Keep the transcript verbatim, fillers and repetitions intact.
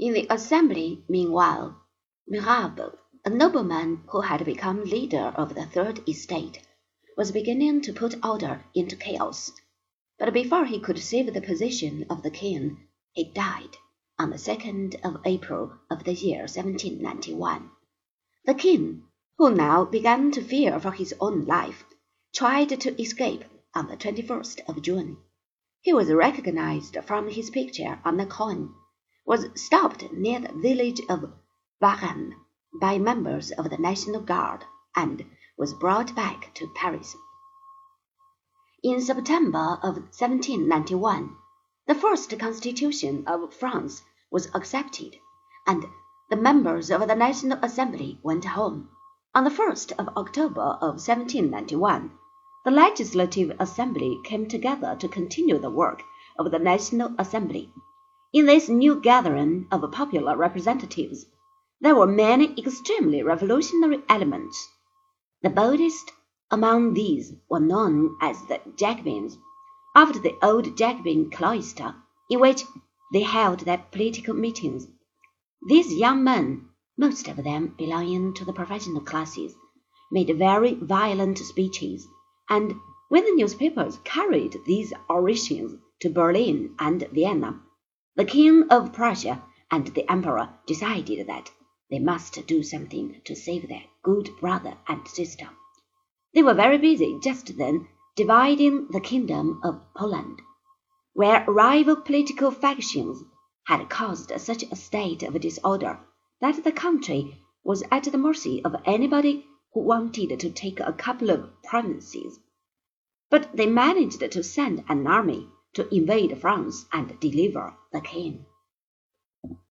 In the assembly, meanwhile, Mirabeau, a nobleman who had become leader of the Third Estate, was beginning to put order into chaos. But before he could save the position of the king, he died on the second of April of the year seventeen ninety-one. The king, who now began to fear for his own life, tried to escape on the twenty-first of June. He was recognized from his picture on the coin, was stopped near the village of Varennes by members of the National Guard, and was brought back to Paris. In September of seventeen ninety-one, the first constitution of France was accepted, and the members of the National Assembly went home. On the first of October of seventeen ninety-one, the Legislative Assembly came together to continue the work of the National Assembly. In this new gathering of popular representatives, there were many extremely revolutionary elements. The boldest among these were known as the Jacobins, after the old Jacobin cloister in which they held their political meetings. These young men, most of them belonging to the professional classes, made very violent speeches, and when the newspapers carried these orations to Berlin and Vienna, the King of Prussia and the Emperor decided that they must do something to save their good brother and sister. They were very busy just then dividing the kingdom of Poland, where rival political factions had caused such a state of disorder that the country was at the mercy of anybody who wanted to take a couple of provinces. But they managed to send an army to invade France and deliver the king.